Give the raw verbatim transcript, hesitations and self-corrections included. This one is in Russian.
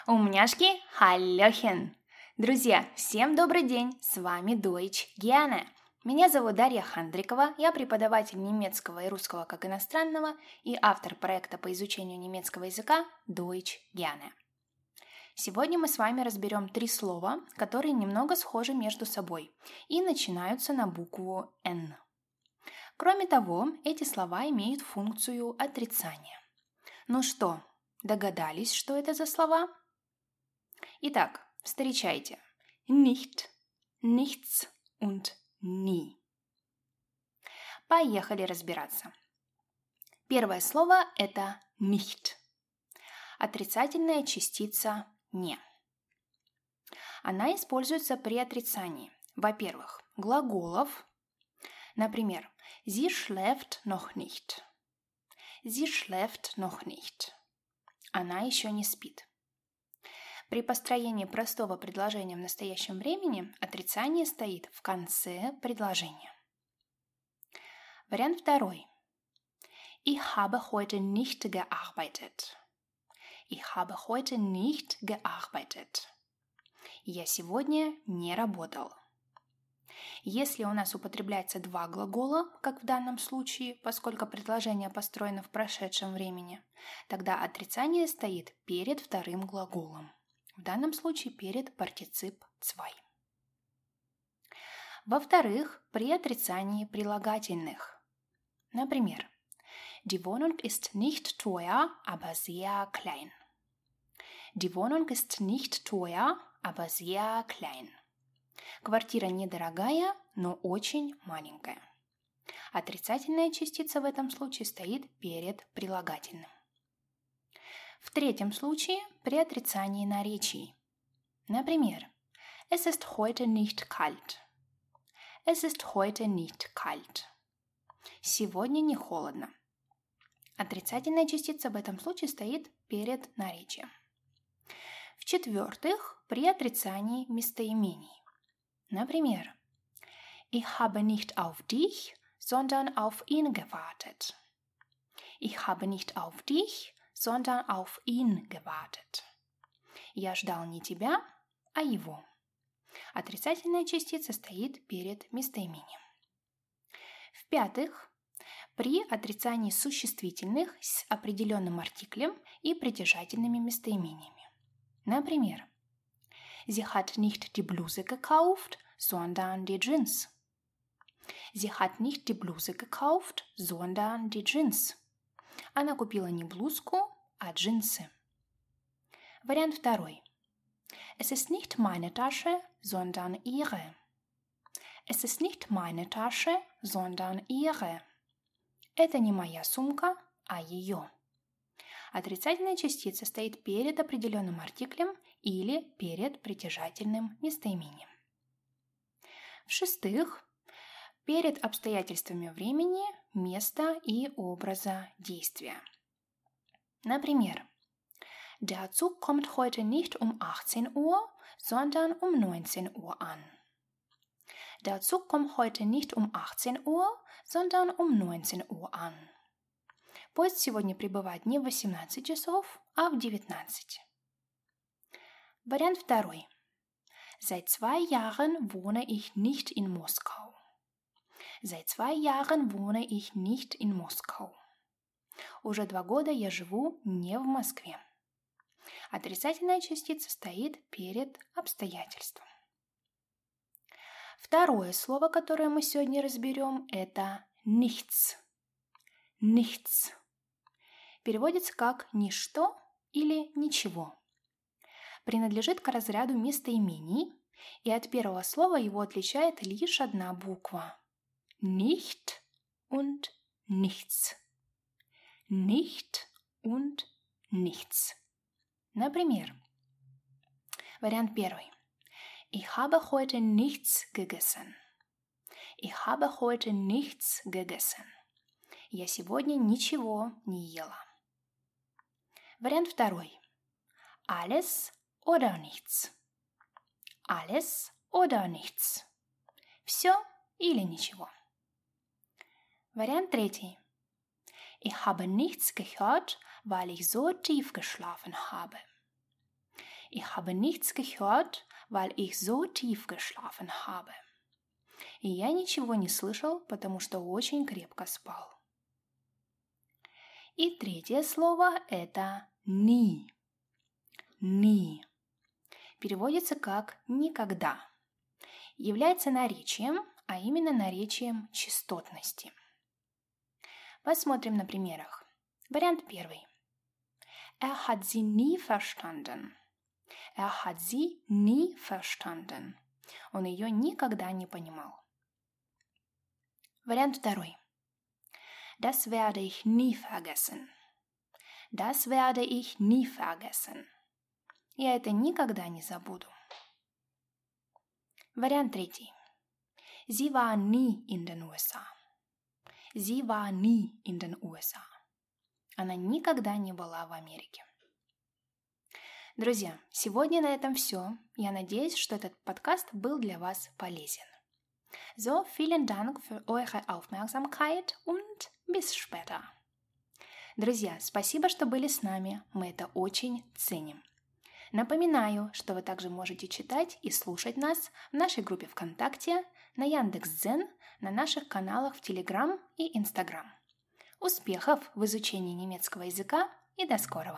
Умняшки, халлёхен! Друзья, всем добрый день! С вами Deutsch Gerne. Меня зовут Дарья Хандрикова, я преподаватель немецкого и русского как иностранного и автор проекта по изучению немецкого языка Deutsch Gerne. Сегодня мы с вами разберем три слова, которые немного схожи между собой и начинаются на букву «Н». Кроме того, эти слова имеют функцию отрицания. Ну что, догадались, что это за слова? Итак, встречайте. Nicht, nichts und nie. Поехали разбираться. Первое слово – это nicht. Отрицательная частица «не». Она используется при отрицании, во-первых, глаголов. Например, sie schläft noch nicht. Sie schläft noch nicht. Она еще не спит. При построении простого предложения в настоящем времени отрицание стоит в конце предложения. Вариант второй. Ich habe heute nicht gearbeitet. Ich habe heute nicht gearbeitet. Я сегодня не работал. Если у нас употребляется два глагола, как в данном случае, поскольку предложение построено в прошедшем времени, тогда отрицание стоит перед вторым глаголом. В данном случае перед партицип zwei. Во-вторых, при отрицании прилагательных. Например, Die Wohnung ist nicht teuer, aber sehr klein. Die Wohnung ist nicht teuer, aber sehr klein. Квартира недорогая, но очень маленькая. Отрицательная частица в этом случае стоит перед прилагательным. В третьем случае при отрицании наречий. Например, Es ist heute nicht kalt. Es ist heute nicht kalt. Сегодня не холодно. Отрицательная частица в этом случае стоит перед наречием. В-четвертых, при отрицании местоимений. Например, Ich habe nicht auf dich, sondern auf ihn gewartet. Ich habe nicht auf dich, sondern auf ihn gewartet. Я ждал не тебя, а его. Отрицательная частица стоит перед местоимением. В-пятых, при отрицании существительных с определенным артиклем и притяжательными местоимениями. Например, Sie hat nicht die Bluse gekauft, sondern die Jeans. Sie hat nicht die Bluse gekauft, sondern die Jeans. Она купила не блузку, а джинсы. Вариант второй. Es ist nicht meine Tasche, sondern ihre. Es ist nicht meine Tasche, sondern ihre. Это не моя сумка, а ее. Отрицательная частица стоит перед определенным артиклем или перед притяжательным местоимением. В-шестых, перед обстоятельствами времени, места и образа действия. Например, Der Zug kommt heute nicht um achtzehn Uhr, sondern um neunzehn Uhr an. Der Zug kommt heute nicht um achtzehn Uhr, sondern um neunzehn Uhr an. Поезд сегодня прибывает не в восемнадцать часов, а в девятнадцать. Вариант второй. Seit zwei Jahren wohne ich nicht in Moskau. Seit zwei Jahren wohne ich nicht in Moskau. Уже два года я живу не в Москве. Отрицательная частица стоит перед обстоятельством. Второе слово, которое мы сегодня разберем, это nichts. Nichts. Переводится как «ничто» или «ничего». Принадлежит к разряду местоимений, и от первого слова его отличает лишь одна буква. Nicht und nichts. Nicht und nichts. Например, вариант первый. Ich habe heute nichts gegessen. Ich habe heute nichts gegessen. Я сегодня ничего не ела. Вариант второй. Alles oder nichts. Alles oder nichts. Все или ничего. Вариант третий. Ich habe nichts gehört, weil ich so tief geschlafen habe. Ich habe nichts gehört, weil ich so tief geschlafen habe. И я ничего не слышал, потому что очень крепко спал. И третье слово – это «ни». «Ни» переводится как «никогда». Является наречием, а именно наречием частотности. Посмотрим на примерах. Вариант первый. Er hat sie nie verstanden. Er hat sie nie verstanden. Он ее никогда не понимал. Вариант второй. Das werde ich nie vergessen. Das werde ich nie vergessen. Я это никогда не забуду. Вариант третий. Sie war nie in den U S A. Sie war nie in den U S A. Она никогда не была в Америке. Друзья, сегодня на этом все. Я надеюсь, что этот подкаст был для вас полезен. So, vielen Dank für eure Aufmerksamkeit und bis später. Друзья, спасибо, что были с нами. Мы это очень ценим. Напоминаю, что вы также можете читать и слушать нас в нашей группе ВКонтакте, на Яндекс.Дзен, на наших каналах в Телеграм и Инстаграм. Успехов в изучении немецкого языка и до скорого!